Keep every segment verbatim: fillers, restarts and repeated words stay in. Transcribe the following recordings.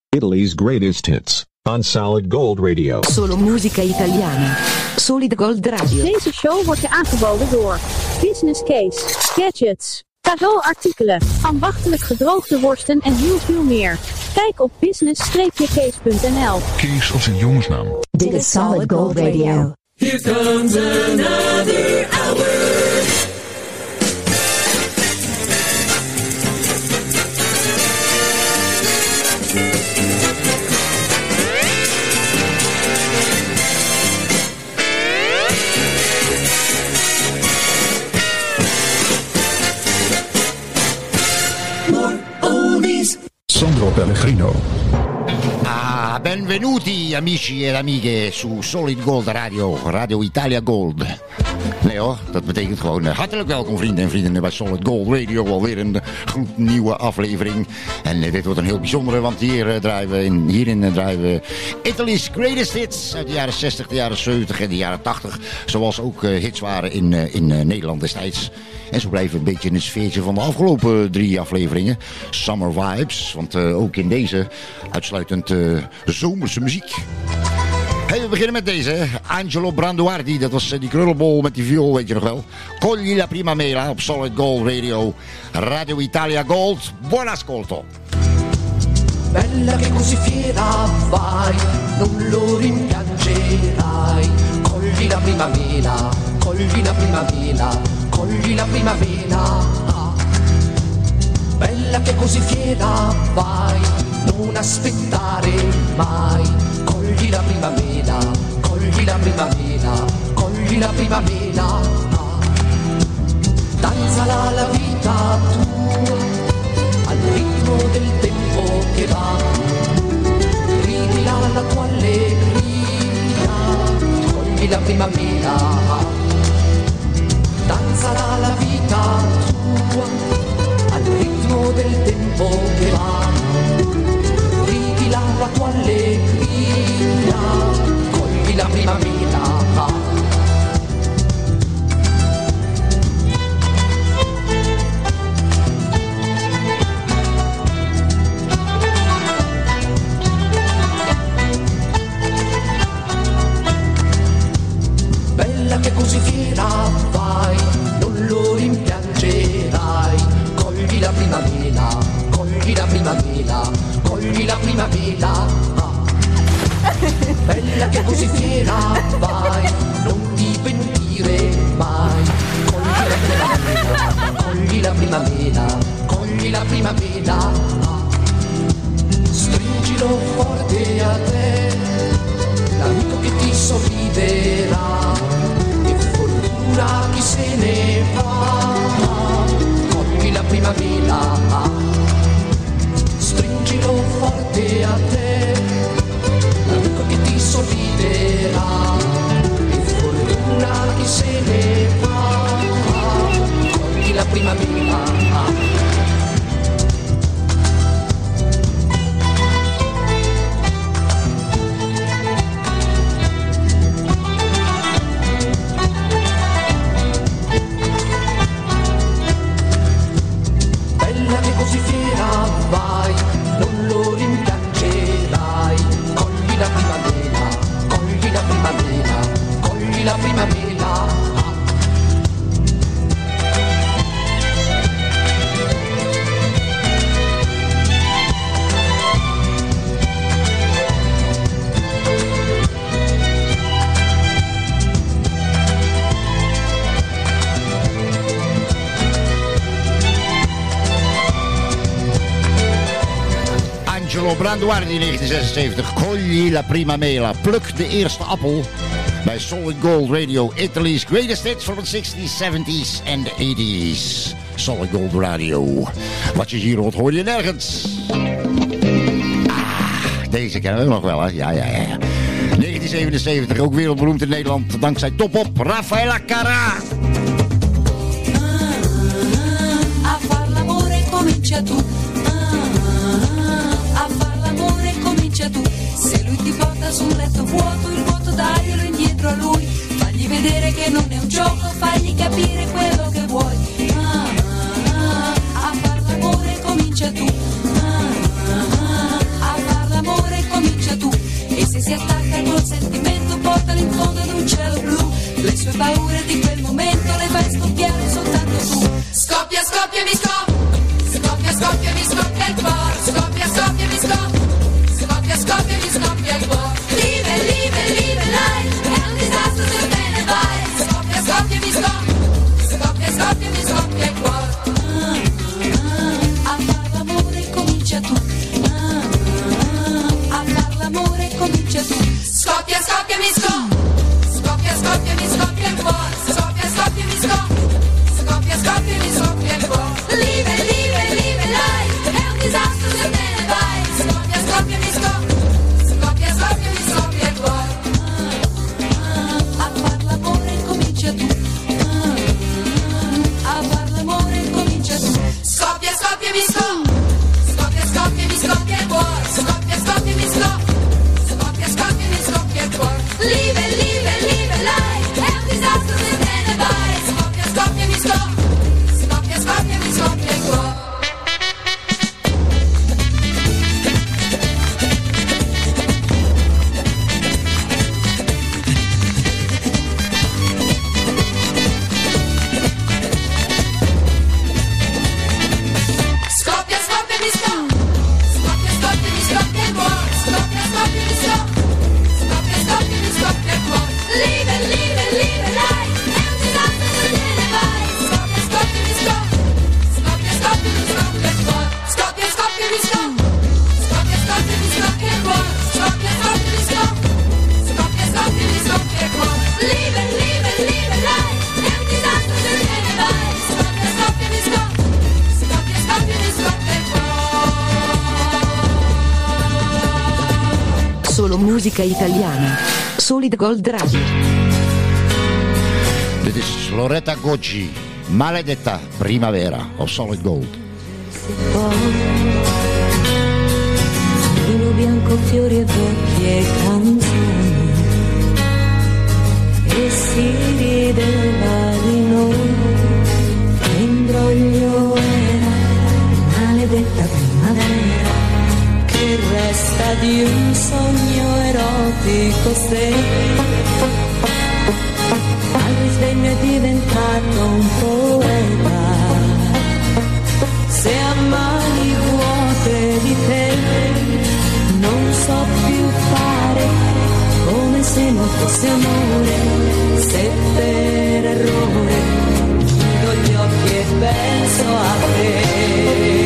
Italy's greatest hits on Solid Gold Radio. Solo musica italiana. Solid Gold Radio. Deze show wordt je aangeboden door Business Case, Gadgets, cadeauartikelen, ambachtelijk gedroogde worsten en heel veel meer. Kijk op business case punt n l. Kees als een jongensnaam. Dit is Solid Gold Radio. Here comes another hour. Sandro Pellegrino. Ah, benvenuti amici en amiche su Solid Gold Radio, Radio Italia Gold. Nee hoor, dat betekent gewoon uh, hartelijk welkom vrienden en vriendinnen bij Solid Gold Radio. Alweer een goed nieuwe aflevering. En uh, dit wordt een heel bijzondere, want hier uh, draaien we, in, hierin uh, draaien we Italy's greatest hits uit de jaren zestig, de jaren zeventig en de jaren tachtig. Zoals ook uh, hits waren in, uh, in uh, Nederland destijds. En zo blijven we een beetje in het sfeertje van de afgelopen drie afleveringen. Summer vibes, want uh, ook in deze uitsluitend uh, zomerse muziek. Hey, we beginnen met deze, hè. Angelo Branduardi, dat was uh, die krullenbol met die viool, weet je nog wel. Cogli la prima mela op Solid Gold Radio, Radio Italia Gold. Buon ascolto. Bella che così fiera vai, non lo rimpiangerai. Cogli la prima mela, cogli la prima mela, cogli la prima mela. Bella che così fiera vai, non aspettare mai. Cogli la prima mela, cogli la prima mela, cogli la prima mela. Danzala la vita tua al ritmo del tempo che va. Ridila la tua allegria, cogli la prima mela. Danzala la vita tua al ritmo del tempo che va. Ridila la tua allegria, cogli la prima mela. Bella che così fiera vai, non lo rimpiangerai. Cogli la prima mela, cogli la prima mela, cogli la prima mela. Bella che così fiera vai, non ti pentire mai. Cogli la prima mela, cogli la prima mela, cogli la prima mela. Stringilo forte a te, l'amico che ti sorriderà. E fortuna chi se ne va, cogli la prima mela. Stringilo forte a te, l'amico che ti sorriderà. E fortuna chi se ne va, cogli la prima mela. Così fiera vai, non lo rimpiangerai. Cogli la prima mela, cogli la prima mela, cogli la prima mela. Angelo Branduardi negentien zesenzeventig, Cogli la prima mela, pluk de eerste appel bij Solid Gold Radio, Italy's greatest hits from the sixties, seventies en the eighties. Solid Gold Radio. Wat je hier hoort, hoor je nergens. Ah, deze kennen we nog wel, hè? Ja, ja, ja. negentien zevenenzeventig, ook wereldberoemd in Nederland, dankzij Top Op, Raffaella Carrà. A far l'amore comincia tu. Tu. Se lui ti porta su un letto vuoto, il vuoto daglielo indietro a lui. Fagli vedere che non è un gioco, fagli capire quello che vuoi. Ah, ah, ah, a far l'amore comincia tu. Ah, ah, ah, a far l'amore Solo musica italiana. Solid Gold Radio. Dit is Loretta Goggi, Maledetta Primavera op Solid Gold. Vino bianco, fiori e vecchie canzoni, e si rideva di noi, che imbroglio era, maledetta primavera, che resta di un sogno erotico se al risveglio è diventato un poeta, se a mani vuote di te non so più fare, come se non fosse amore, se per errore chiudo gli occhi e penso a te.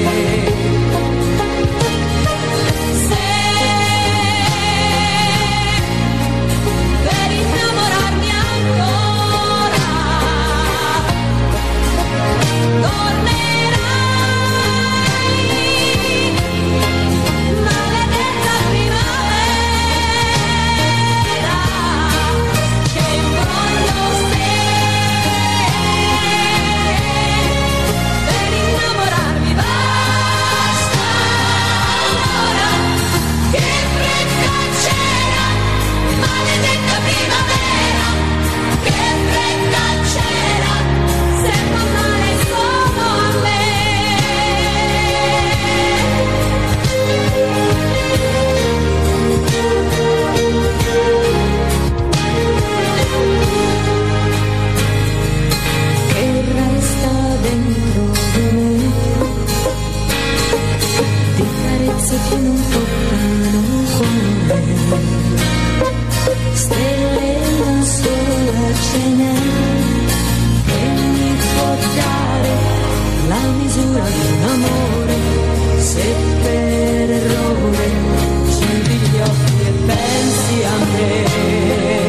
Che non toccano cuore, stelle una sola ce n'è, che mi può dare la misura di un amore, se per errore chiudi gli occhi e pensi a me.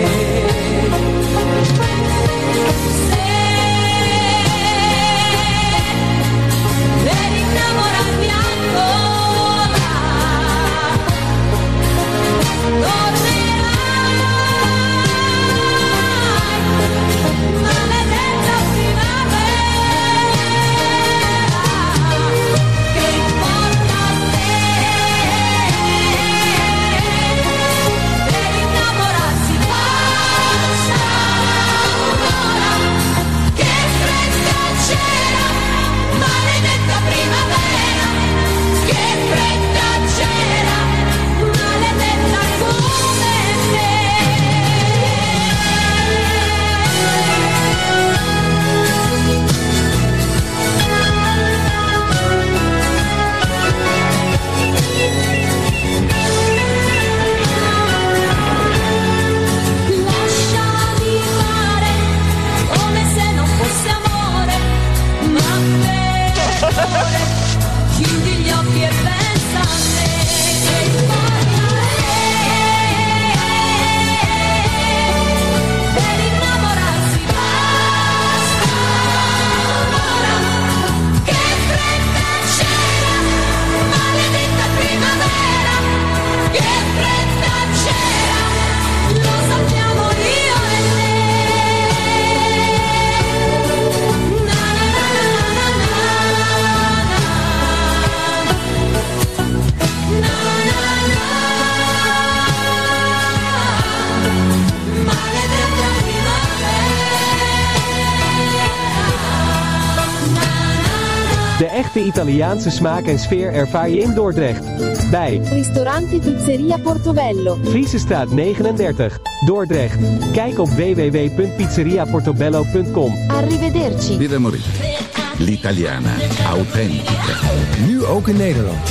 De echte Italiaanse smaak en sfeer ervaar je in Dordrecht. Bij Ristorante Pizzeria Portobello. Friesestraat negenendertig, Dordrecht. Kijk op w w w punt pizzeria portobello punt com. Arrivederci. Birra Moretti. L'italiana autentica. Nu ook in Nederland.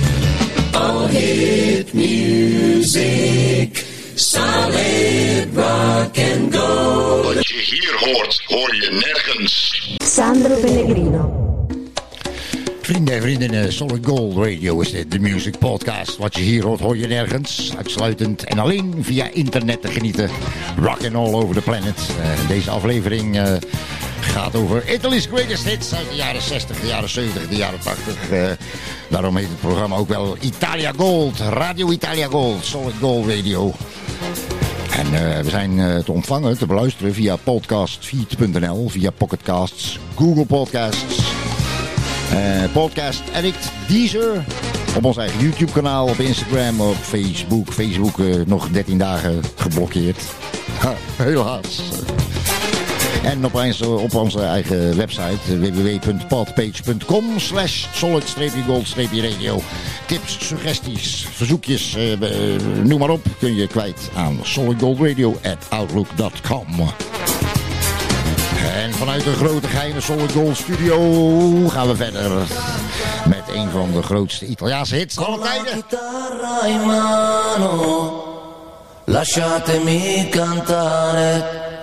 All hit music. Solid rock and go. Wat je hier hoort, hoor je nergens. Sandro Pellegrino. Vrienden en vriendinnen, Solid Gold Radio is dit, de music podcast. Wat je hier hoort, hoor je nergens. Uitsluitend en alleen via internet te genieten. Rock and all over the planet. Uh, deze aflevering uh, gaat over Italy's Greatest Hits uit de jaren zestig, de jaren zeventig, de jaren tachtig. Uh, daarom heet het programma ook wel Italia Gold, Radio Italia Gold, Solid Gold Radio. En uh, we zijn uh, te ontvangen, te beluisteren via podcastfeed punt n l, via Pocketcasts, Google Podcasts, uh, Podcast Addict, Deezer, op ons eigen YouTube kanaal, op Instagram, op Facebook. Facebook uh, nog dertien dagen geblokkeerd. Ha, helaas. En op onze, op onze eigen website w w w punt podpage punt com slash solid-gold-radio. Tips, suggesties, verzoekjes, uh, uh, noem maar op, kun je kwijt aan solidgoldradio at outlook dot com. En vanuit de grote geheime Solid Gold studio gaan we verder met een van de grootste Italiaanse hits aller tijden. Lasciatemi cantare,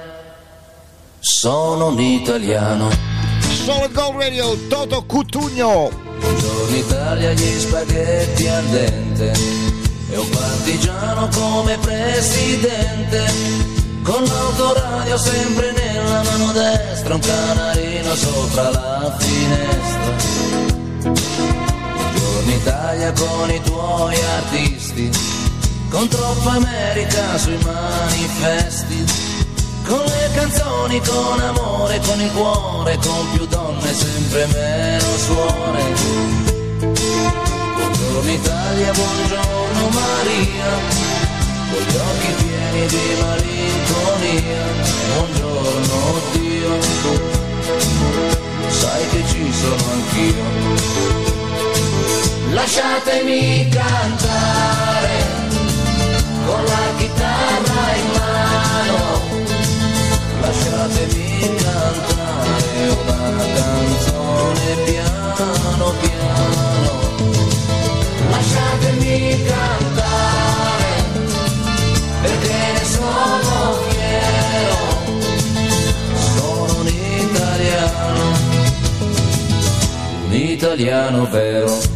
sono un italiano. Solid Gold Radio, Toto Cutugno. Buongiorno Italia, gli spaghetti al dente e un partigiano come presidente, con l'autoradio sempre nella mano destra, un canarino sopra la finestra. Buongiorno Italia con i tuoi artisti, con troppa America sui manifesti, con le canzoni, con amore, con il cuore, con più donne, sempre meno suore. Buongiorno Italia, buongiorno Maria, con gli occhi pieni di malinconia. Buongiorno Dio, sai che ci sono anch'io. Lasciatemi cantare con la chitarra in mano, lasciatemi cantare una canzone piano piano, lasciatemi cantare perché ne sono fiero, sono un italiano, un italiano vero.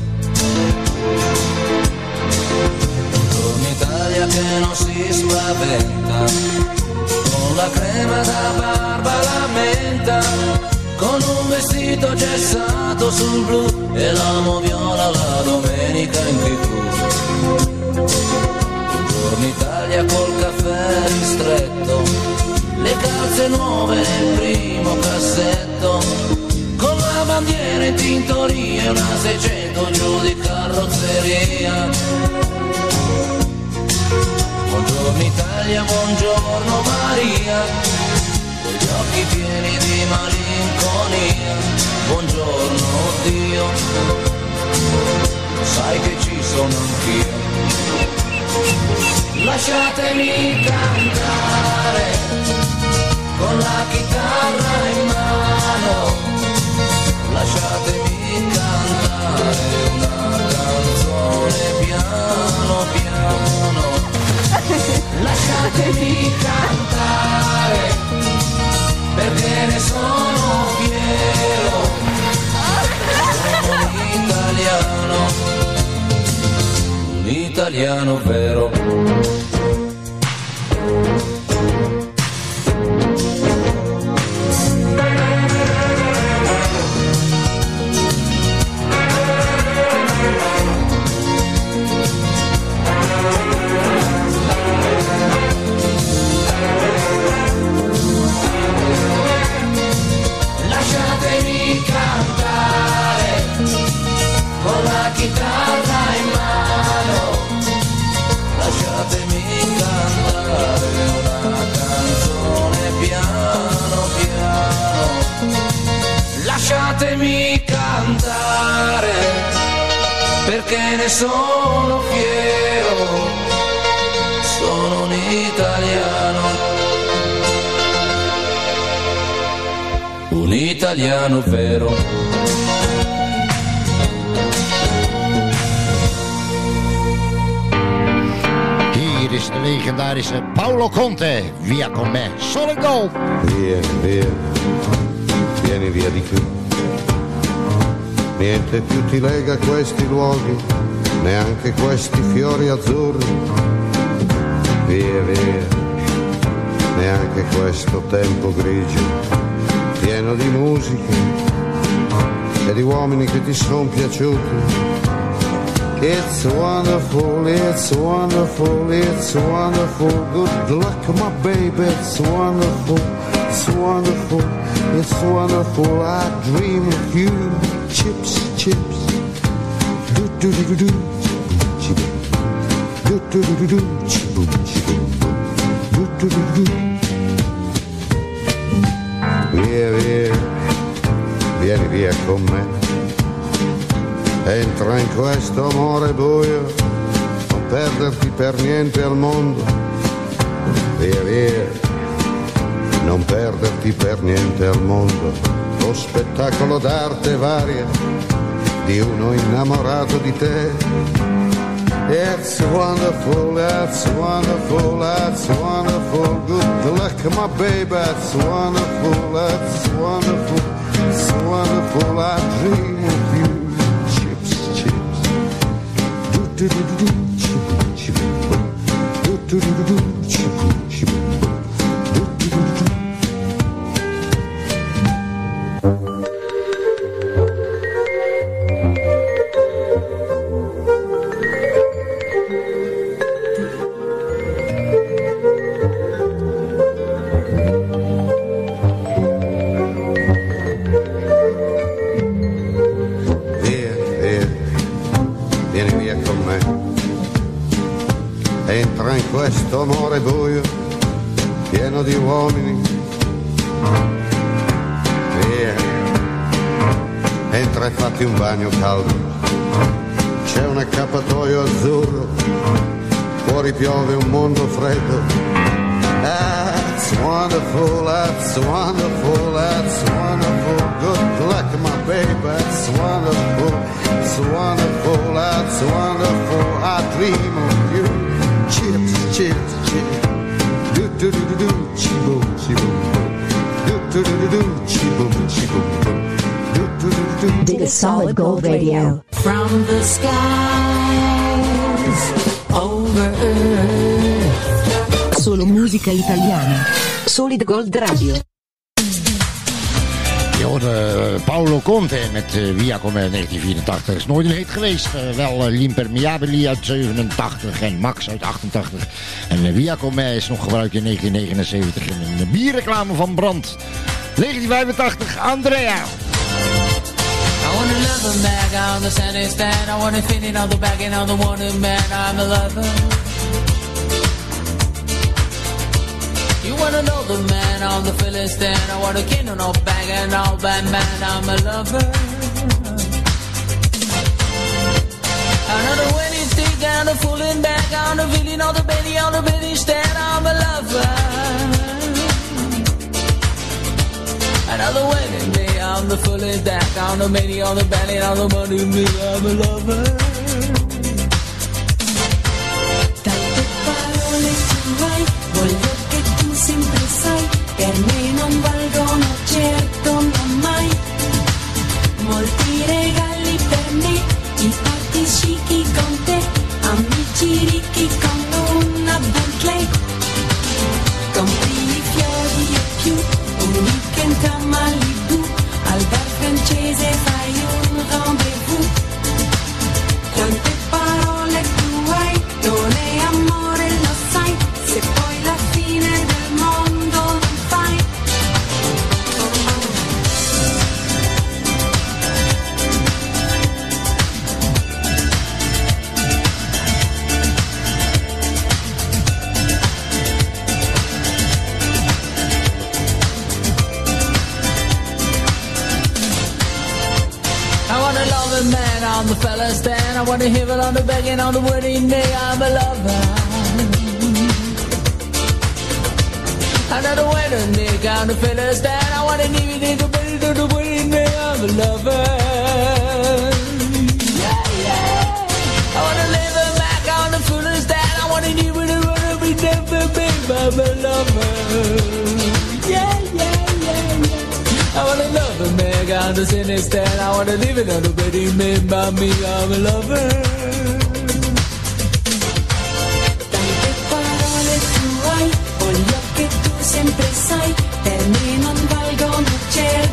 Un'Italia che non si spaventa, con la crema da barba la menta, con un vestito gessato sul blu e l'amo viola la domenica in tivù. Buongiorno Italia col caffè ristretto, le calze nuove nel primo cassetto, con la bandiera in tintoria e una seicento giù di carrozzeria. Buongiorno Italia, buongiorno Maria, con gli occhi pieni di malinconia. Buongiorno Dio, sai che ci sono anch'io. Lasciatemi cantare con la chitarra in mano, lasciatemi cantare una canzone piano piano. Lasciatemi cantare perché ne sono fiero, sono un italiano, un italiano vero. Chitarra in mano, lasciatemi cantare una canzone piano piano, lasciatemi cantare perché ne sono fiero, sono un italiano, un italiano vero. Is de legendarische Paolo Conte, via con me, Solid Gold. Via, via, vieni via di qui. Niente più ti lega a questi luoghi, neanche questi fiori azzurri. Via, via, neanche questo tempo grigio ti pieno di musica e di uomini che ti sono piaciuti. It's wonderful, it's wonderful, it's wonderful. Good luck, my baby, it's wonderful, it's wonderful, it's wonderful. I dream of you, chips, chips. Do do do do do, chip, do do do do do, chip, chip, do do do do. Via, via, vieni via con me. Entra in questo amore buio, non perderti per niente al mondo. Via via, non perderti per niente al mondo. Lo spettacolo d'arte varia di uno innamorato di te. It's wonderful, that's wonderful, that's wonderful. Good luck, my baby, that's wonderful, that's wonderful, it's wonderful. I dream of you. Do do do do, chip chip. Do do do do, chip chip. Do do do do. Via, via, vieni via con me. Entra in questo amore buio, pieno di uomini. Via, entra e fatti un bagno caldo. C'è un accappatoio azzurro, fuori piove un mondo freddo. That's wonderful, that's wonderful, that's wonderful. Good luck, my baby, that's wonderful, it's wonderful, that's wonderful. I dream of you. Chips, chips, chips. Do do do do do, chibo, chibo. Do do do do do, chibo, chibo. Do do do do. Dig a Solid Gold Radio. From the skies over earth. Solo musica italiana. Solid Gold Radio. Je hoorde Paolo Conte met uh, Via Come negentien vierentachtig. Is nooit een hit geweest. Uh, wel uh, L'Impermeabili uit zevenentachtig en Max uit achtentachtig. En uh, Via Come is nog gebruikt in negentien negenenzeventig in een uh, bierreclame van Brandt. negentien vijfentachtig, Andrea. I want a lover man on the Sunday stand. I want a feeling on the back and on the wanted man. I'm a lover. You want another man on the Philistine. I want a king on a bag and all bad man. I'm a lover. Another winning stick and a fooling back on the feeling on the belly on the belly stand. I'm a lover. Another winning day on the fooling back on the belly on the belly on the money me. I'm a lover. Tante parole tu hai, voglio che tu sempre sai, per me non valgono certo non mai. Molti regali per me, i party chic con te, amici ricchi con una Bentley. Compri i fiori e più, un weekend a Malibu, al bar francese fai un rendezvous. Quante parole tu hai, non è amore lo sai, se poi la fine del mondo non fai. I want a loving man on the fella stand. I want to hear it on the begging on the wedding day. I'm a lover. Another wedding day on the fella stand. I want to leave it in the wedding on the wedding day. I'm a lover. Yeah, yeah. I want to live it back on the fella stand. I want to leave it in the wedding day. I'm a lover. Yeah, yeah, yeah, yeah. I wanna love a man on the cine stand. I wanna live in on the wedding man by me. I'm a lover. Tante parole tu hai, voglio che tu sempre sai, per me non valgono certo.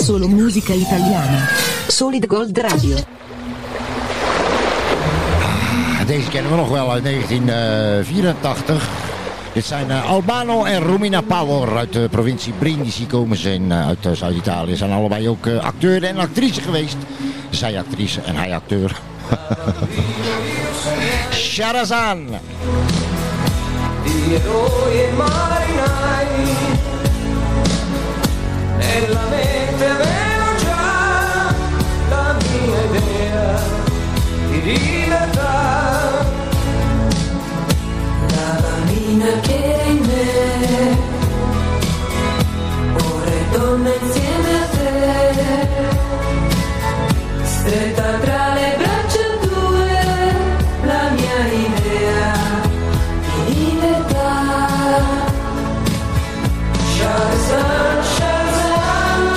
Solo musica italiana. Solid Gold Radio. Ah, deze kennen we nog wel uit negentien vierentachtig. Dit zijn uh, Albano en Romina Power uit de provincie Brindisi komen ze in, uh, uit uh, Zuid-Italië. Ze zijn allebei ook uh, acteur en actrice geweest. Zij actrice en hij acteur. Sharazan. Di eroi e marinai, nella mente avevo già la mia idea di libertà. La bambina che era in me, ora è donna insieme a te, stretta tra le braccia tue, la mia idea di libertà. Shazam, Shazam,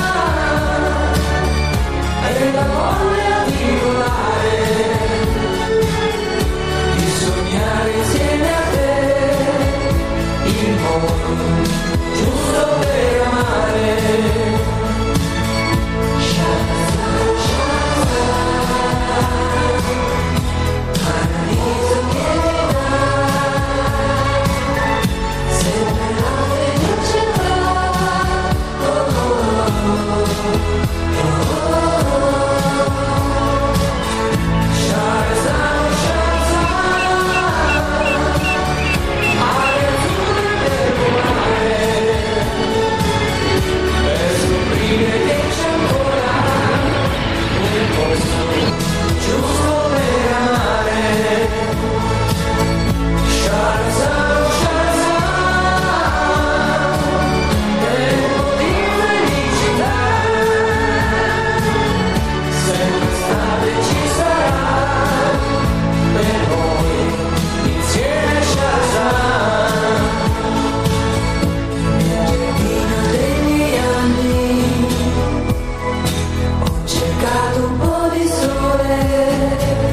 è la voglia di volare, di sognare insieme a te il mondo giusto per amare. Shazam, Shazam, paradiso che mi dà sempre la felicità. Oh, oh, oh, oh, oh. Shazam, Shazam, aria azzurra per volare, per scoprire che c'è ancora un posto giusto per amare. Shazam, Shazam, tempo di felicità, sempre estate ci sarà per noi insieme. Shazam, nel giardino dei miei anni ho cercato un po' di sole,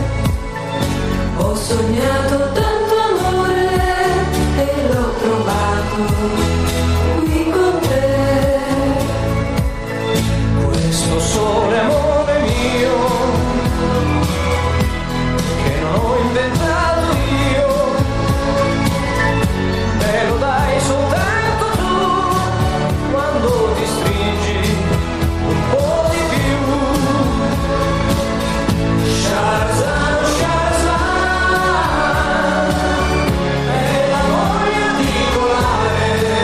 ho sognato tanto amore e l'ho trovato qui con te. Questo sole, amore mio, che non ho inventato io, me lo dai soltanto tu, quando ti stringi un po' di più. Shazam, Shazam, è la voglia di volare,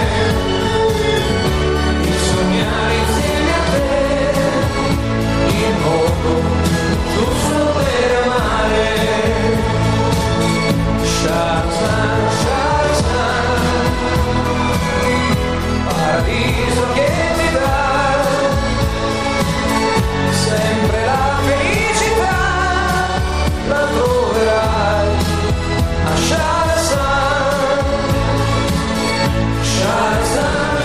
di sognare insieme a te il mondo giusto per amare. Shazam, Shazam, paradiso che ti dà sempre la felicità, la troverai a Shazam. Shazam,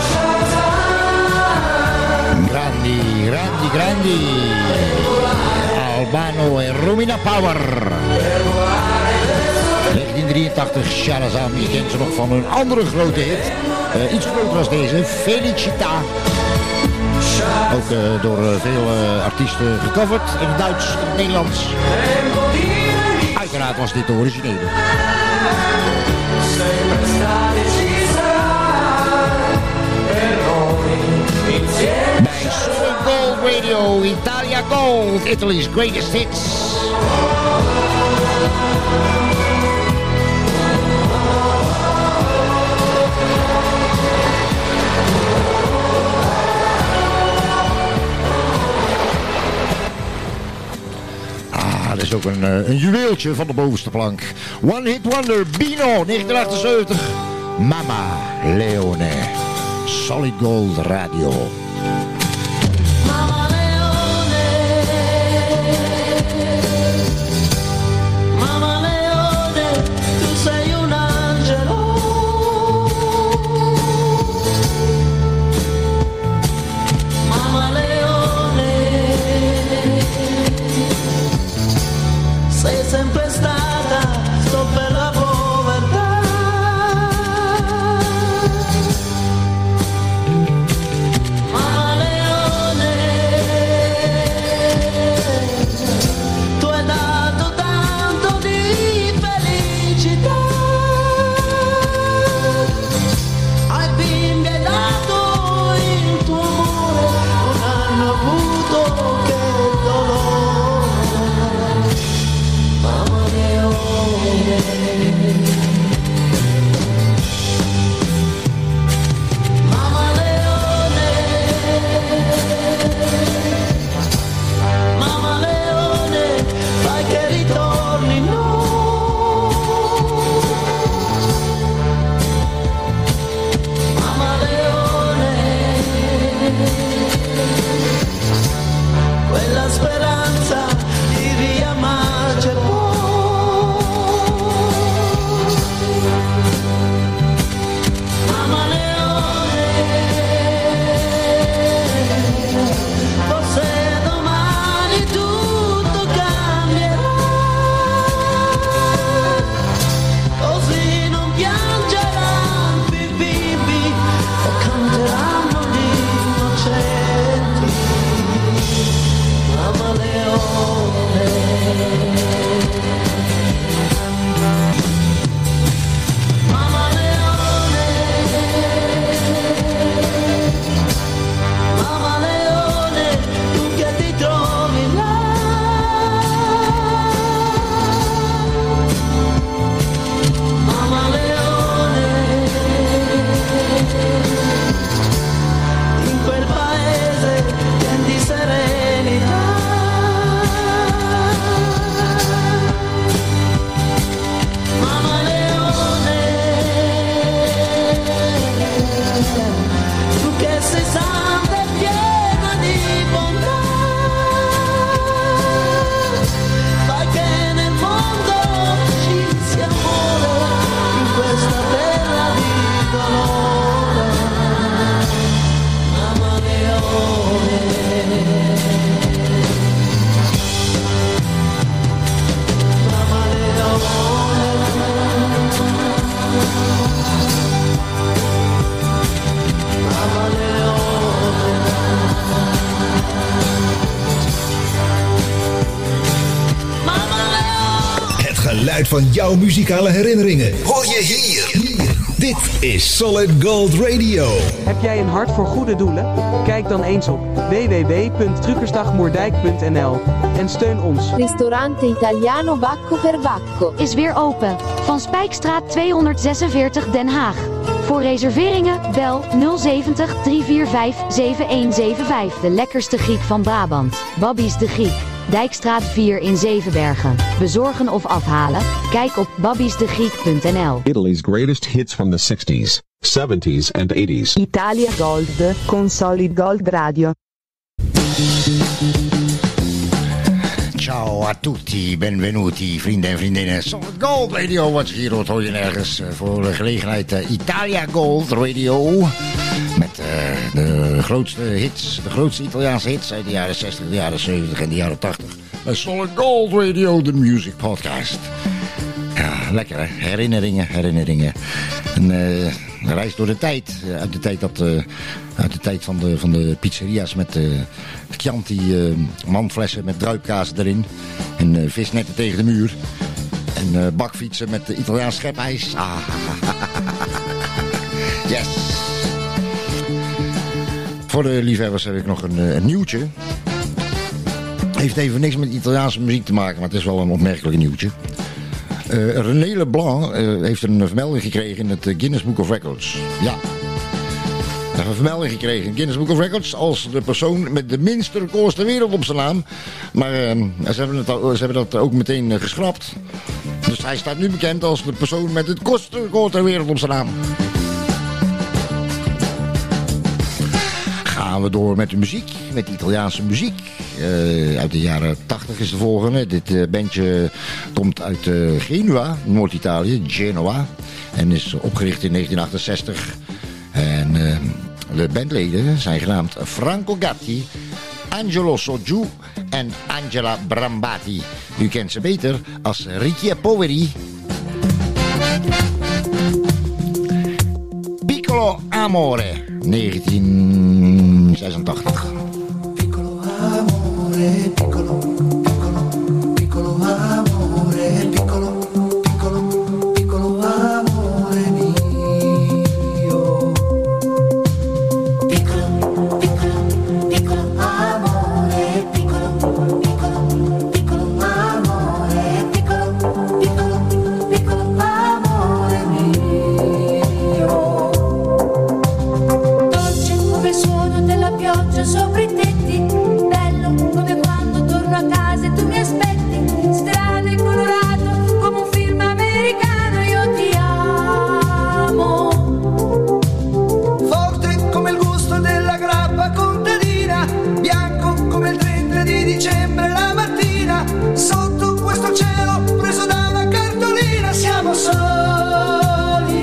Shazam, Grandi, grandi, grandi. Albano en Romina Power. negentien drieëntachtig, Sharazam. Je kent ze nog van een andere grote hit. Uh, iets groter als deze, Felicita. Ook uh, door uh, veel uh, artiesten gecoverd. In het Duits, in het Nederlands. Uiteraard was dit de originele. sempre estate ci sarà per noi insieme. Bij Solid Gold Radio, Italia Gold, Italy's greatest hits. Dat is ook een, een juweeltje van de bovenste plank. One Hit Wonder, Bino, negentien achtenzeventig. Mama Leone, Solid Gold Radio. Mama Leone, Mama Leone, tu sei un angelo. Mama Leone, sei sempre stata sopra la povertà. Mama Leone, kwaliteit van jouw muzikale herinneringen hoor je hier. Dit is Solid Gold Radio. Heb jij een hart voor goede doelen? Kijk dan eens op w w w punt truckersdagmoerdijk punt n l en steun ons. Ristorante Italiano Bacco per Bacco is weer open. Van Spijkstraat tweehonderdzesenveertig Den Haag. Voor reserveringen bel nul zeventig, drie vier vijf, zeven een zeven vijf. De lekkerste Griek van Brabant. Babby's de Griek. Dijkstraat vier in Zevenbergen. Bezorgen of afhalen? Kijk op babbies de griek punt n l. Italy's greatest hits from the sixties, seventies and eighties. Italia Gold con Solid Gold Radio. Ciao a tutti, benvenuti vrienden en vriendinnen. Solid Gold Radio, wat hier hoort hoor je nergens. Uh, voor de gelegenheid uh, Italia Gold Radio. Met uh, de grootste hits, de grootste Italiaanse hits uit de jaren zestig, de jaren zeventig en de jaren tachtig. Bij Solid Gold Radio, de music podcast. Ja, lekker hè, herinneringen, herinneringen. Een uh, reis door de tijd, uh, uit de tijd, dat, uh, uit de tijd van, de, van de pizzeria's met uh, Chianti uh, mandflessen met druipkaas erin. En uh, visnetten tegen de muur. En uh, bakfietsen met uh, Italiaans schepijs. Ah, yes. Voor de liefhebbers heb ik nog een, een nieuwtje. Heeft even niks met Italiaanse muziek te maken, maar het is wel een opmerkelijk nieuwtje. Uh, René Leblanc uh, heeft een vermelding gekregen in het Guinness Book of Records. Ja. Hij heeft een vermelding gekregen in het Guinness Book of Records als de persoon met de minste records ter wereld op zijn naam. Maar uh, ze, hebben het al, ze hebben dat ook meteen uh, geschrapt. Dus hij staat nu bekend als de persoon met het kortste record ter wereld op zijn naam. Gaan we door met de muziek, met de Italiaanse muziek. Uh, uit de jaren tachtig is de volgende. Dit uh, bandje komt uit uh, Genua, Noord-Italië, Genoa. En is opgericht in negentien achtenzestig. En uh, de bandleden zijn genaamd Franco Gatti, Angelo Soggiù en Angela Brambati. U kent ze beter als Ricchi e Poveri. Piccolo Amore, negentien zesentachtig. Piccolo amore, piccolo, piccolo, piccolo amore, piccolo, piccolo, piccolo amore mio. Piccolo, piccolo, piccolo amore, piccolo, piccolo, piccolo amore, piccolo, piccolo, piccolo amore mio. Dolce come il suono della pioggia sopra i tetti, bello come quando torno a casa e tu mi aspetti, strano e colorato come un film americano, io ti amo. Forte come il gusto della grappa contadina, bianco come il trenta di dicembre la mattina, sotto questo cielo preso da una cartolina siamo soli.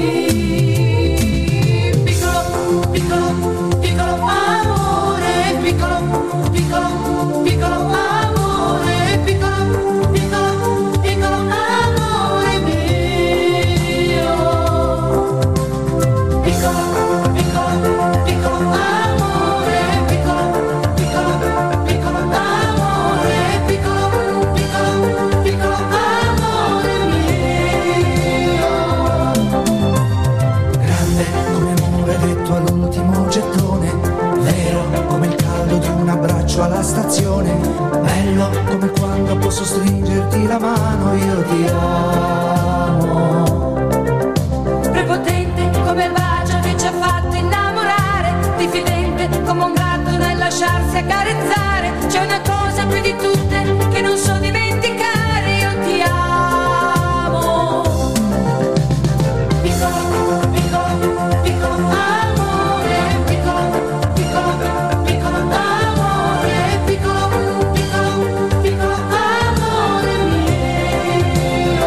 Piccolo, piccolo, piccolo amore, piccolo, piccolo, piccolo amore, piccolo, piccolo, piccolo amore mio. Piccolo, piccolo, piccolo amore, piccolo, piccolo, piccolo amore, piccolo, piccolo, piccolo amore mio. Grande come amore detto all'ultimo gettone, vero come il caldo di un abbraccio alla stazione, bello come quando posso stringerti la mano, io ti amo. Prepotente come il bacio che ci ha fatto innamorare, diffidente come un gatto nel lasciarsi accarezzare, c'è una cosa più di tutte che non so dimenticare, io ti amo. Piccolo, piccolo, piccolo amore, piccolo, piccolo, piccolo amore, piccolo, piccolo, piccolo amore mio.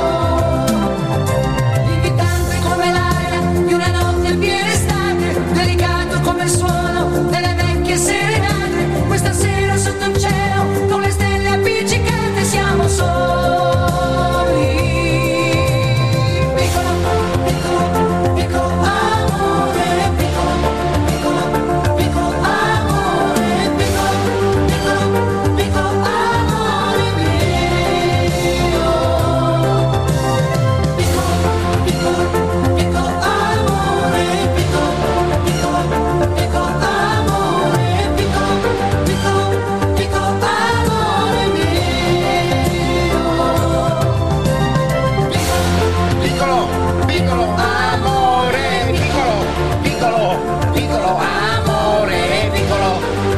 Invitante come l'aria di una notte in piena estate, delicato come il suono delle vecchie serenate, questa sera sotto il cielo con le stelle appiccicate siamo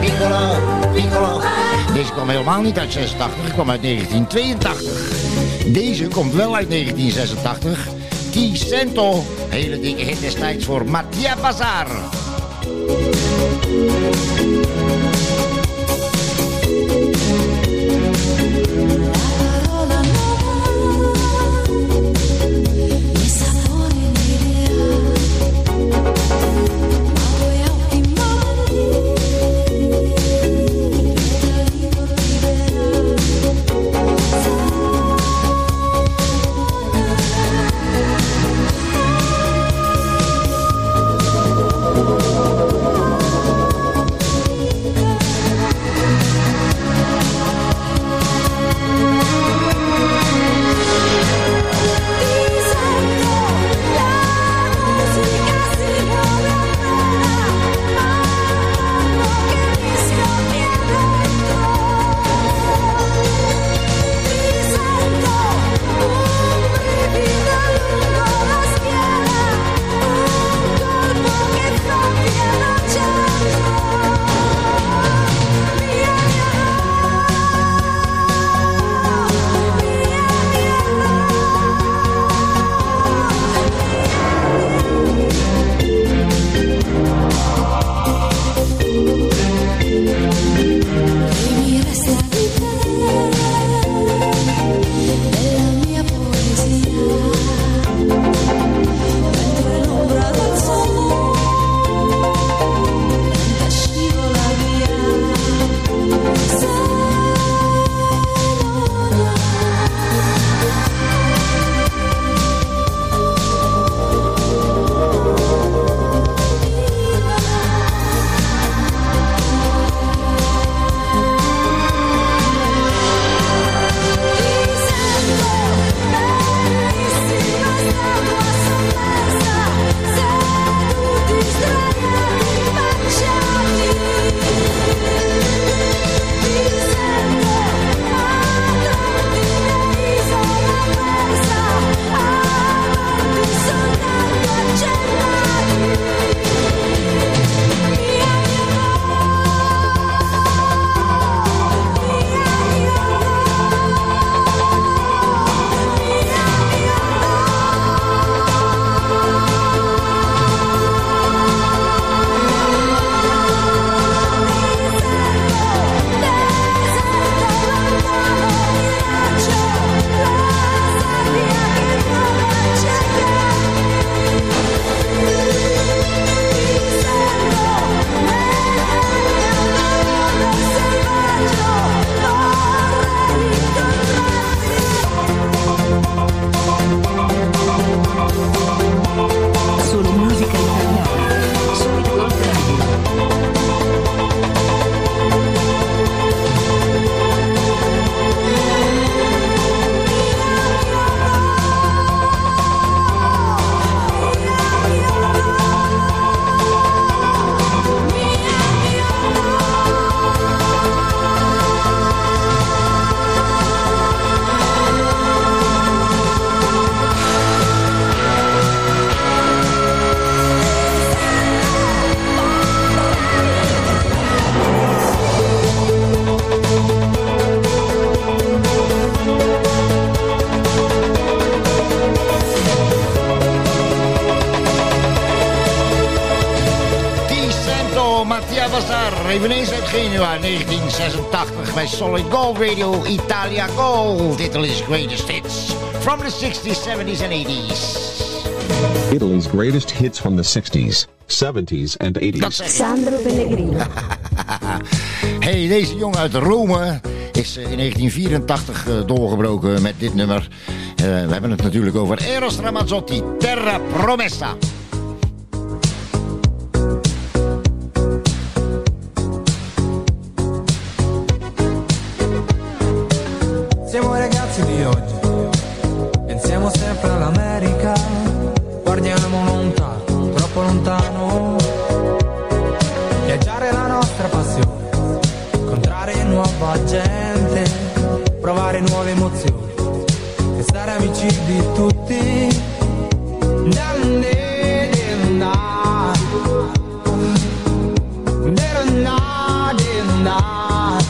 piccolo, piccolo. Deze kwam helemaal niet uit zesentachtig, die kwam uit negentien tweeëntachtig. Deze komt wel uit negentien zesentachtig. Ti Sento, hele dikke hit destijds voor Mattia Bazar. Eveneens uit Genua, negentien zesentachtig bij Solid Gold Radio, Italia Gold. Italy's greatest hits from the sixties, seventies and eighties. Italy's greatest hits from the sixties, seventies and eighties. Sandro Pellegrino. Hey, deze jongen uit Rome is in negentien vierentachtig doorgebroken met dit nummer. Uh, we hebben het natuurlijk over Eros Ramazzotti, Terra Promessa. Siamo ragazzi di oggi, pensiamo sempre all'America, guardiamo lontano, troppo lontano, viaggiare è la nostra passione, incontrare nuova gente, provare nuove emozioni, e stare amici di tutti. andare.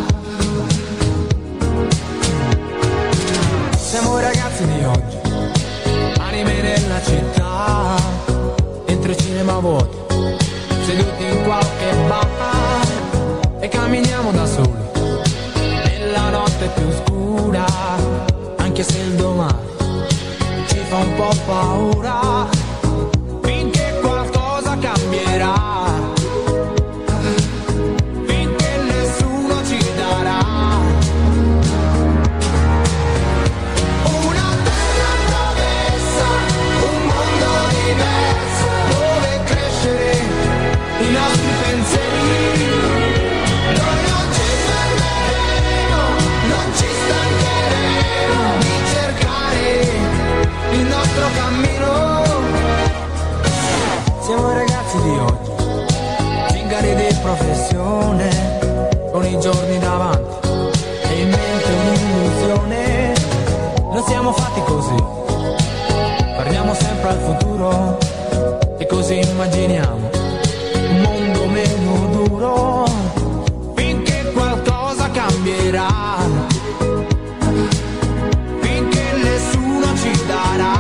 Siamo ragazzi di oggi, anime della città, entro i cinema vuoti, seduti in qualche bar, e camminiamo da soli nella notte più scura, anche se il domani ci fa un po' paura, finché qualcosa cambierà. Siamo ragazzi di oggi, zingari di professione, con i giorni davanti e in mente un'illusione. Non siamo fatti così, guardiamo sempre al futuro e così immaginiamo un mondo meno duro, finché qualcosa cambierà, finché nessuno ci darà.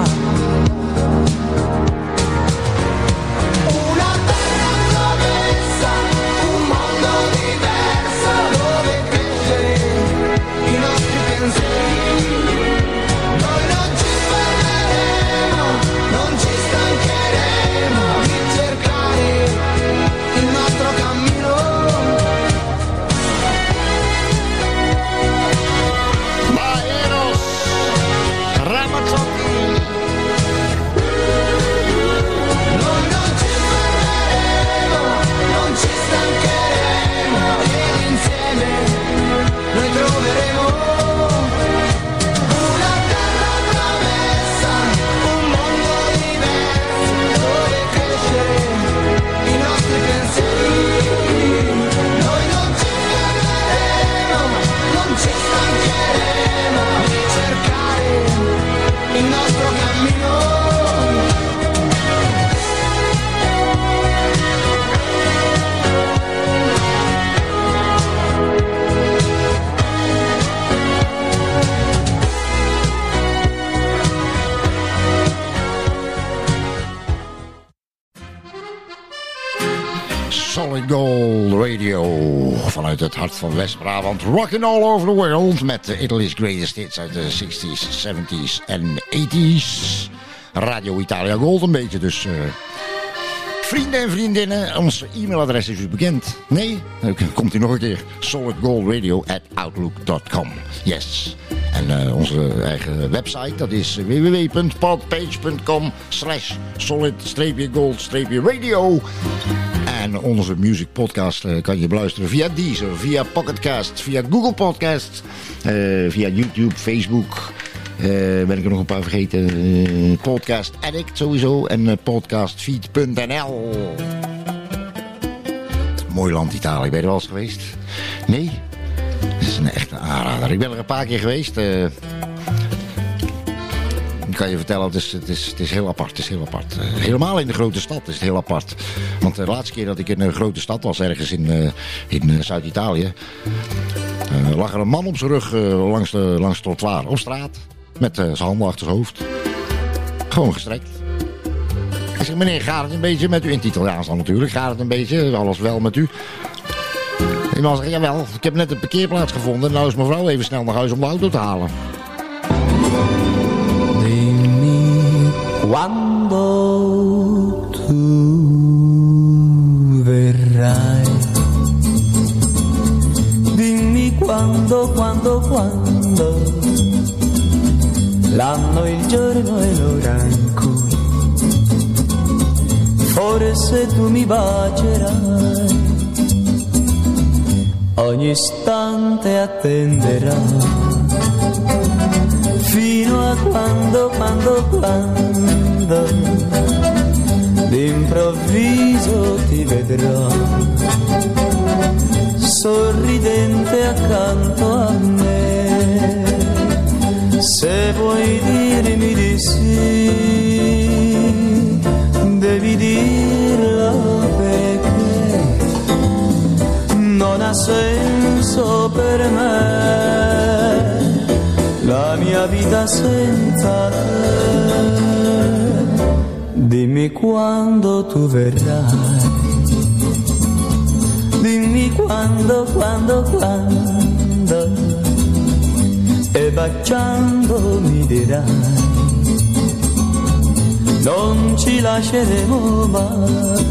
Solid Gold Radio vanuit het hart van West-Brabant. Rockin' all over the world met Italy's greatest hits uit de zestig's, zeventig's en eighty's. Radio Italia Gold een beetje, dus uh, vrienden en vriendinnen, ons e-mailadres is u bekend. Nee? Dan komt u nog een keer. solidgoldradio at outlook dot com. Yes. En uh, onze eigen website, dat is w w w punt podpage punt com slash solid-gold-radio. En onze music podcast uh, kan je beluisteren via Deezer, via Pocketcast, via Google Podcasts, uh, via YouTube, Facebook. Uh, ben ik er nog een paar vergeten. Uh, Podcast Addict sowieso en uh, podcastfeed punt n l. Mooi land Italië, ben je er wel eens geweest? Nee? Dat is een echte aanrader. Ik ben er een paar keer geweest. Uh, ik kan je vertellen, het is, het, is, het is heel apart. Het is heel apart. Uh, helemaal in de grote stad is het heel apart. Want de laatste keer dat ik in een grote stad was, ergens in, uh, in uh, Zuid-Italië, uh, lag er een man op zijn rug uh, langs, de, langs het trottoir op straat. Met uh, zijn handen achter zijn hoofd. Gewoon gestrekt. Ik zeg, meneer, gaat het een beetje met u? In het Italiaans dan natuurlijk. Gaat het een beetje? Alles wel met u? Die man zegt, jawel, ik heb net een parkeerplaats gevonden. Nou is mevrouw even snel naar huis om de auto te halen. Dimmi quando tu verrai. Dimmi quando, quando, quando. L'anno, il giorno e l'ora in cui forse tu mi bacerai. Ogni istante attenderò fino a quando, quando, quando d'improvviso ti vedrò sorridente accanto a me. Se vuoi dirmi di sì, devi dirlo perché non non ha senso per me, la mia vita senza te. Dimmi quando tu verrai, dimmi quando, quando, quando, e baciando mi dirai, non ci lasceremo mai.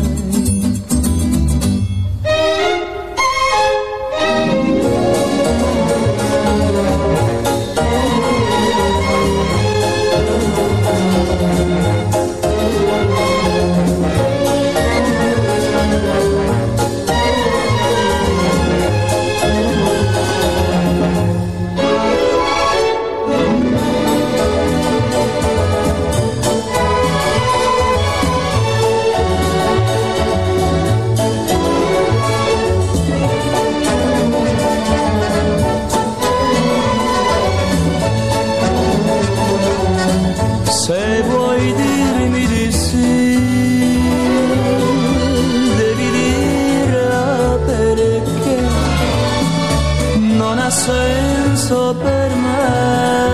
Per me,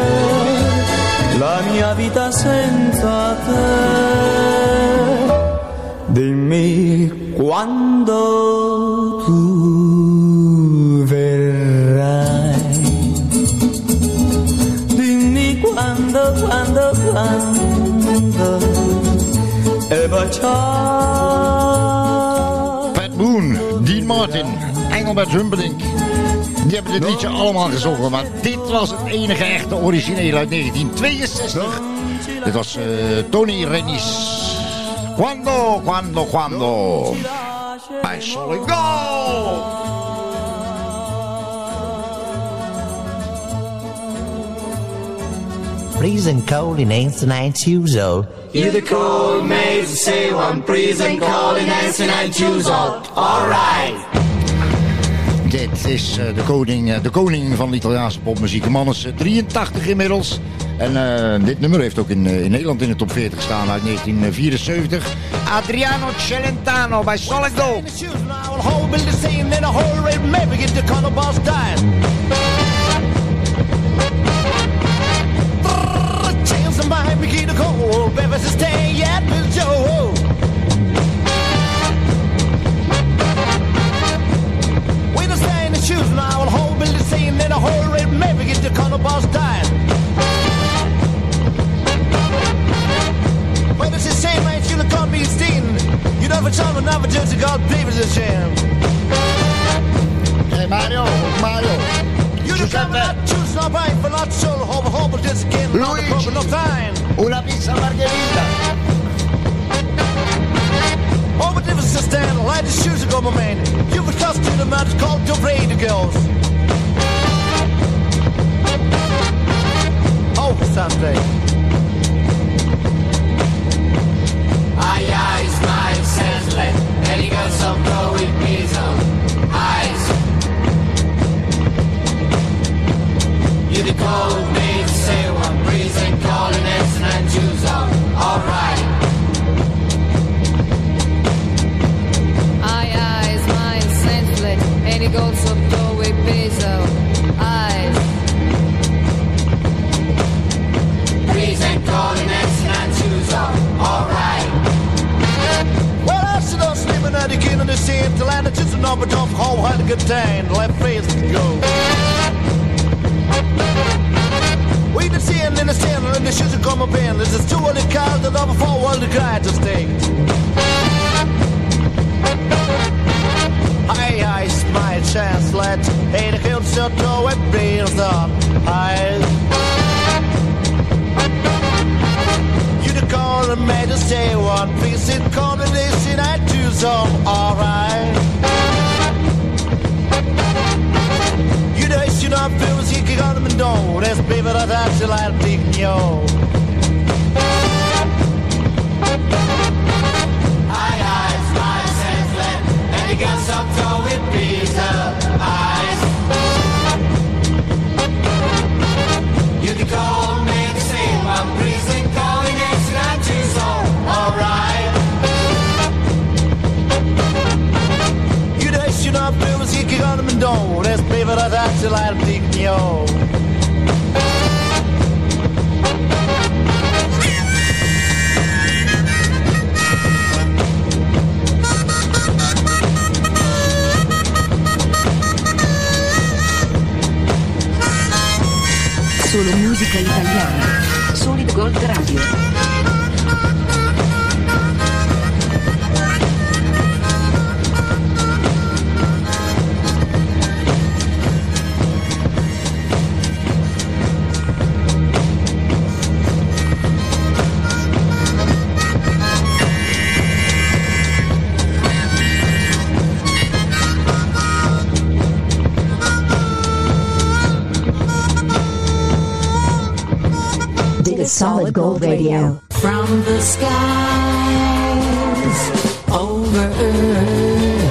la mia vita senza te. Dimmi quando tu verrai, dimmi quando, quando, quando, e baciare. Pat Boone, Dean Martin, Engelbert Humperdinck. Die hebben dit liedje allemaal gezongen, maar dit was het enige echte origineel uit negentien tweeënzestig. Dit was uh, Tony Renis. Quando, quando, quando. Bij Solid Gold. Freezing cold in eighty-nine years old. You're the cold maze, say one, freezing cold in eighty-nine years old. Alright. Dit is uh, de, koning, uh, de koning van de Italiaanse popmuziek. De man is uh, drieëntachtig inmiddels. En uh, dit nummer heeft ook in, uh, in Nederland in de top veertig gestaan uit negentien vierenzeventig. Adriano Celentano bij Solid Gold. Shoes now, I'll hold Billy saying in a hurry, maybe get the color boss dying. Well, it's a shame, man, you look on me, Steen. You never tell me, never judge a God, David's a shame. Hey, Mario, Mario. You look at me, not choose, not buying for not so, hope, hope, this again, not a problem, no time. Una pizza margherita. Oh, but if it's a stand, light the shoes and go, my man. You were tossed to the mat, it's called the radio girls. Oh, Sunday. Aye, aye, smile, senseless. And he got some blow with measles. Eyes. You the cold maid, say one, breezing, calling, and and shoes on. Alright. And he goes up door with basil eyes. Breeze and calling and shoes on. Alright. Well, I should have sleeping at the king of the scene till I just a number off how hard a good time. Left face to go. We the scene in the center and the shoes are come up in. This is too early cars that over for all the guy to stay. Aye, aye, smile, chance, let Hey, the kill shut door and breathes up. Aye. You the call and made us say one piece in combination I do some alright. You the issue not feels you can on them and don't. That's baby that I should like to take you. Aye, aye, smile, chance, let And he got some toe with pizza eyes. You the cold man to say one breezing, calling action and choose so alright. You the issue not I'm through with kicking on my door. Let's play for that till I'm taking you home. Solo musica italiana. Solid Gold Radio. Solid Gold Radio. From the skies over Earth.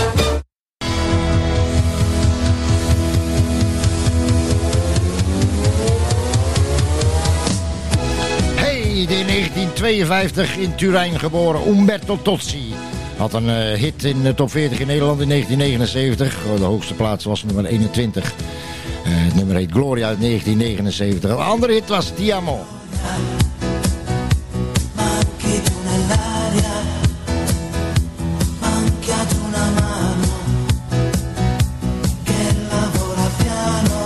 Hey, in negentien tweeënvijftig in Turijn geboren Umberto Tozzi. Had een uh, hit in de top veertig in Nederland in negentien negenenzeventig. De hoogste plaats was nummer eenentwintig. Uh, het nummer heet Gloria uit negentien negenenzeventig. Een andere hit was Ti Amo. Manchi tu nell'aria, manchiato una mano che lavora piano,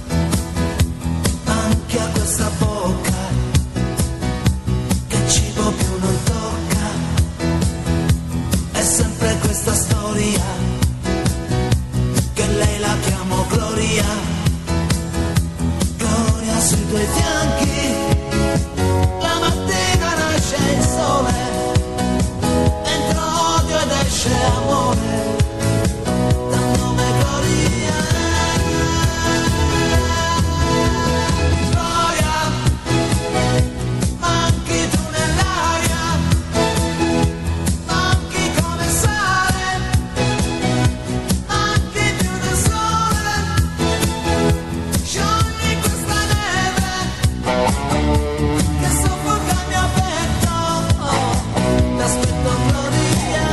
manchi a questa bocca che cibo più non tocca, è sempre questa storia che lei la chiamo Gloria, Gloria sui tuoi fianchi. Il sole, entra odio ed esce amore, dal nome Gloria. Gloria, manchi tu nell'aria, manchi come sale, manchi più del sole, sciogli questa neve che soffoca il mio petto. Aspetto Gloria,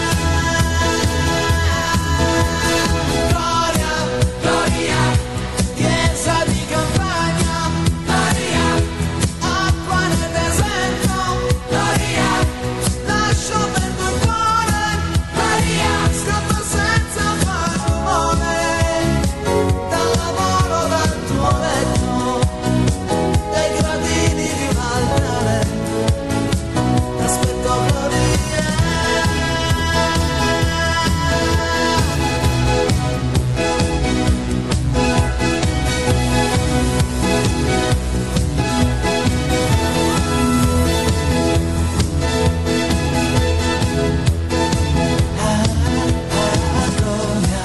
Gloria, Gloria, chiesa di campagna, Gloria, acqua nel deserto, Gloria, lascio per tuo cuore, Gloria, scappo senza far rumore, dal lavoro, dal tuo letto, dai gradini di un altare. Aspetto Gloria. Ah, ah, Gloria,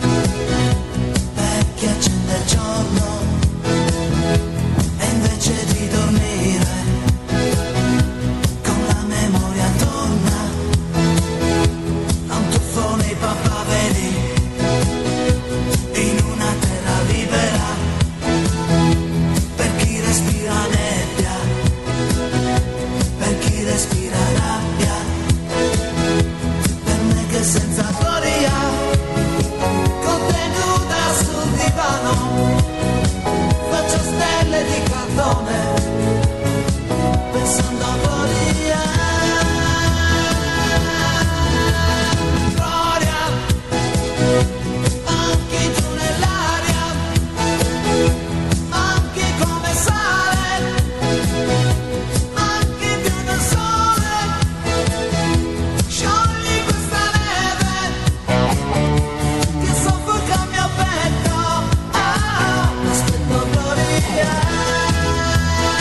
vecchia accende il giorno e invece di dormire con la memoria torna a un tuffo nei papaveri in una terra libera per chi respira nebbia, per chi respira rabbia, per me che senza gloria con te nuda sul divano faccio stelle di cartone pensando a Gloria. Gloria, manchi tu nell'aria, manchi come sale, manchi più del sole, sciogli questa neve che soffoca il mio petto. Ah, aspetto Gloria.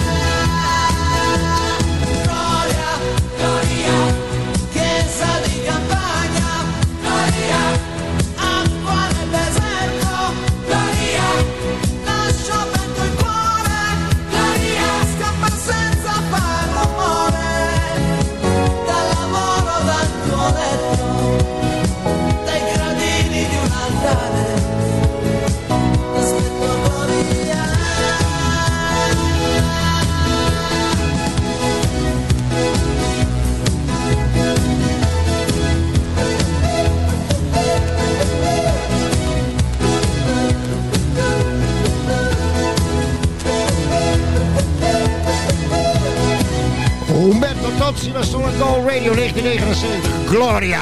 Solid Gold Radio negentien negenenzeventig. Gloria.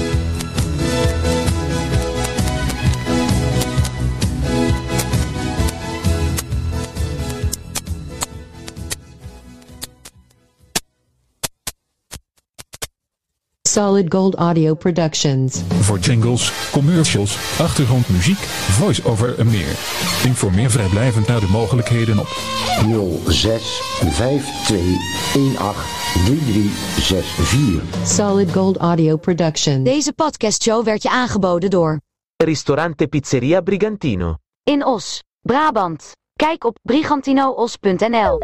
Solid Gold Audio Productions. Voor jingles, commercials, achtergrondmuziek, voice-over en meer. Informeer vrijblijvend naar de mogelijkheden op nul zes vijf twee een acht drie drie zes vier. Solid Gold Audio Productions. Deze podcastshow werd je aangeboden door Ristorante Pizzeria Brigantino in Os, Brabant. Kijk op brigantinoos punt n l.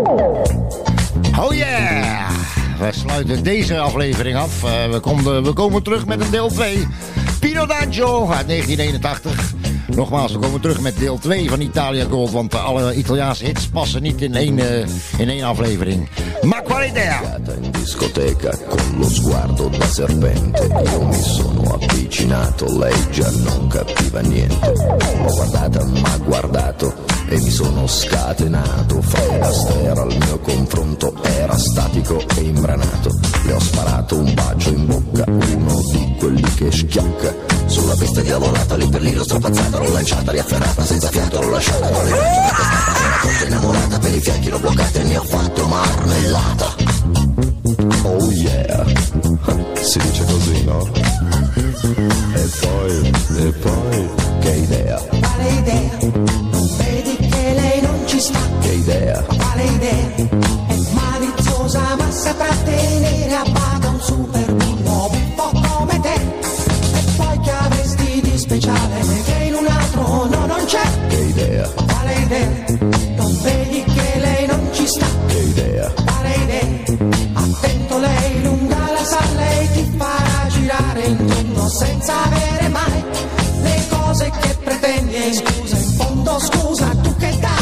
Oh yeah! We sluiten deze aflevering af. Uh, we, komen, we komen terug met een deel twee. Pino D'Angio uit negentien eenentachtig. Nogmaals, we komen terug met deel twee van Italia Gold. Want uh, alle Italiaanse hits passen niet in één, uh, in één aflevering. Ma quale idea? In discoteca con lo sguardo da serpente. Io mi sono avvicinato, lei già non capiva niente. L'ho guardata, m'ha guardato e mi sono scatenato. Fred Astaire al mio confronto era statico e imbranato. Le ho sparato un bacio in bocca, uno di quelli che schiocca. Sulla pista diavolata, lì per lì l'ho strapazzata, l'ho lanciata, riafferrata, senza fiato l'ho lasciata. Con le braccia una testata, era troppo innamorata, per i fianchi l'ho bloccata e ne ho fatto marmellata. Oh yeah, si dice così, no? E poi, e poi, che idea? Quale idea? Non vedi che lei non ci sta? Che idea? Quale idea? È maliziosa ma saprà tenere a bada un super bullo un po' come te. E poi che avresti di speciale che in un altro no non c'è? Che idea? Quale idea? Non vedi che lei non ci sta? Che idea? Quale idea? Attento, lei lunga la sa, lei ti farà girare in tondo senza avere mai le cose che pretendi. E scusa, in fondo scusa, tu che dai?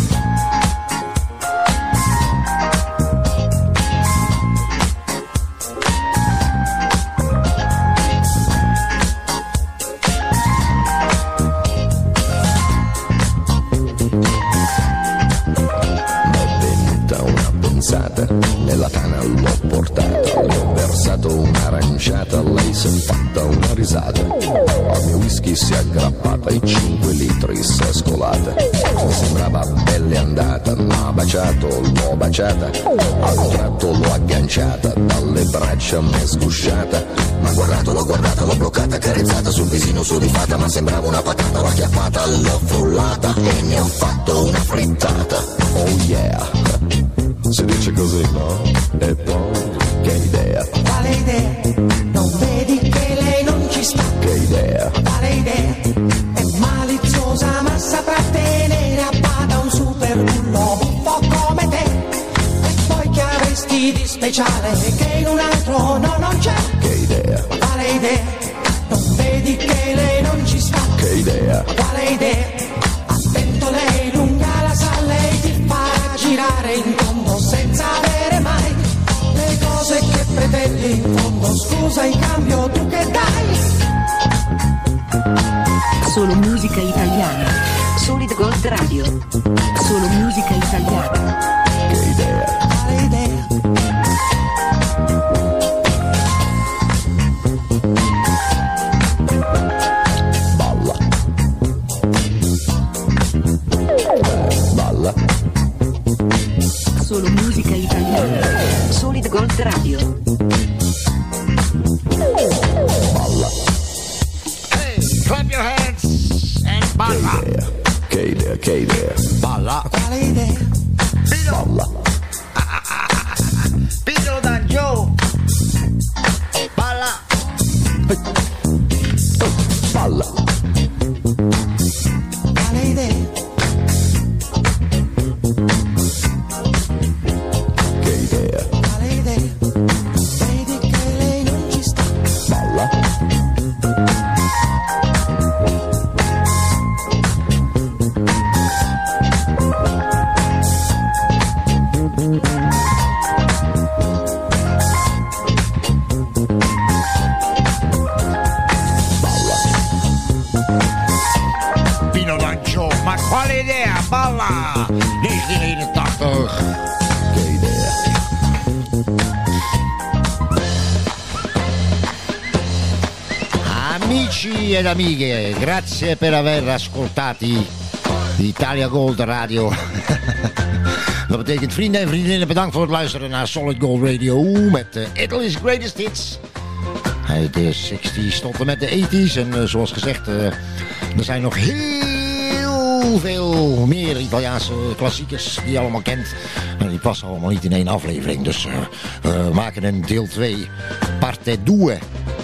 Nella tana l'ho portata, le ho versato un'aranciata, lei si è fatta una risata. Al mio whisky si è aggrappata e cinque litri si è scolata. Mi sembrava belle andata, m'ha baciato, l'ho baciata. A un tratto l'ho agganciata, dalle braccia m'è sgusciata. M'ha guardato, l'ho guardata, l'ho bloccata, carezzata sul visino sudifata. Ma sembrava una patata, l'ho acchiappata, l'ho frullata e ne ho fatto una frittata. Oh yeah! Si dice così, no? E poi, che idea? Quale idea? Non vedi che lei non ci sta? Che idea? Quale idea? È maliziosa ma saprà tenere a bada un super bullo un po' come te. E poi che avresti di speciale che in un altro no non c'è? Che idea? Quale idea? Non vedi che lei non ci sta? Che idea? Quale idea? Attento, lei lunga la sa, lei ti farà girare in tondo senza avere mai le cose che pretendi. In fondo scusa, in cambio tu che dai? Solo musica italiana. Solid Gold Radio. Solo musica italiana. Che idea? Quale idea? Balla. Eh, balla. Solo musica italiana. Solid Gold Radio. Balla. Hey, clap your hands and balla. Che idea? Che idea? Balla. Quale idea? Balla. Pino D'Angio. Balla. Balla. Quale idea? Che idea? Quale idea? Vedi che lei non ci sta? Balla. Pino D'Angio, ma quale idea? Balla! negentien eenentachtig. Che idea? Amici ed amiche, grazie per aver ascoltati Italia Gold Radio. Dat betekent vrienden en vriendinnen, bedankt voor het luisteren naar Solid Gold Radio met uh, Italy's Greatest Hits. Uit de zestig's tot en met de tachtig's. En uh, zoals gezegd, uh, er zijn nog heel veel meer Italiaanse klassiekers die je allemaal kent. En die passen allemaal niet in één aflevering. Dus uh, we maken een deel twee, parte due.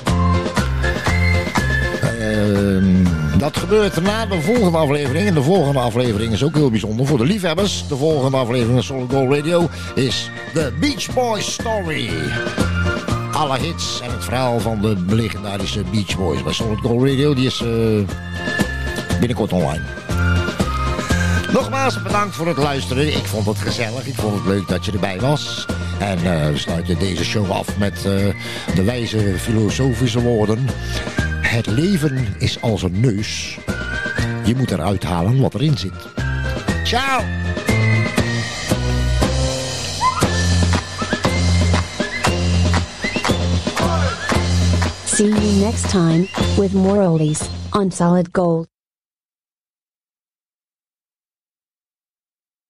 Uh, dat gebeurt na de volgende aflevering. En de volgende aflevering is ook heel bijzonder voor de liefhebbers. De volgende aflevering van Solid Gold Radio is The Beach Boys Story. Alle hits en het verhaal van de legendarische Beach Boys bij Solid Gold Radio. Die is uh, binnenkort online. Nogmaals bedankt voor het luisteren. Ik vond het gezellig. Ik vond het leuk dat je erbij was. En uh, we sluiten deze show af met uh, de wijze filosofische woorden. Het leven is als een neus. Je moet eruit halen wat erin zit. Ciao! See you next time with more oldies on Solid Gold.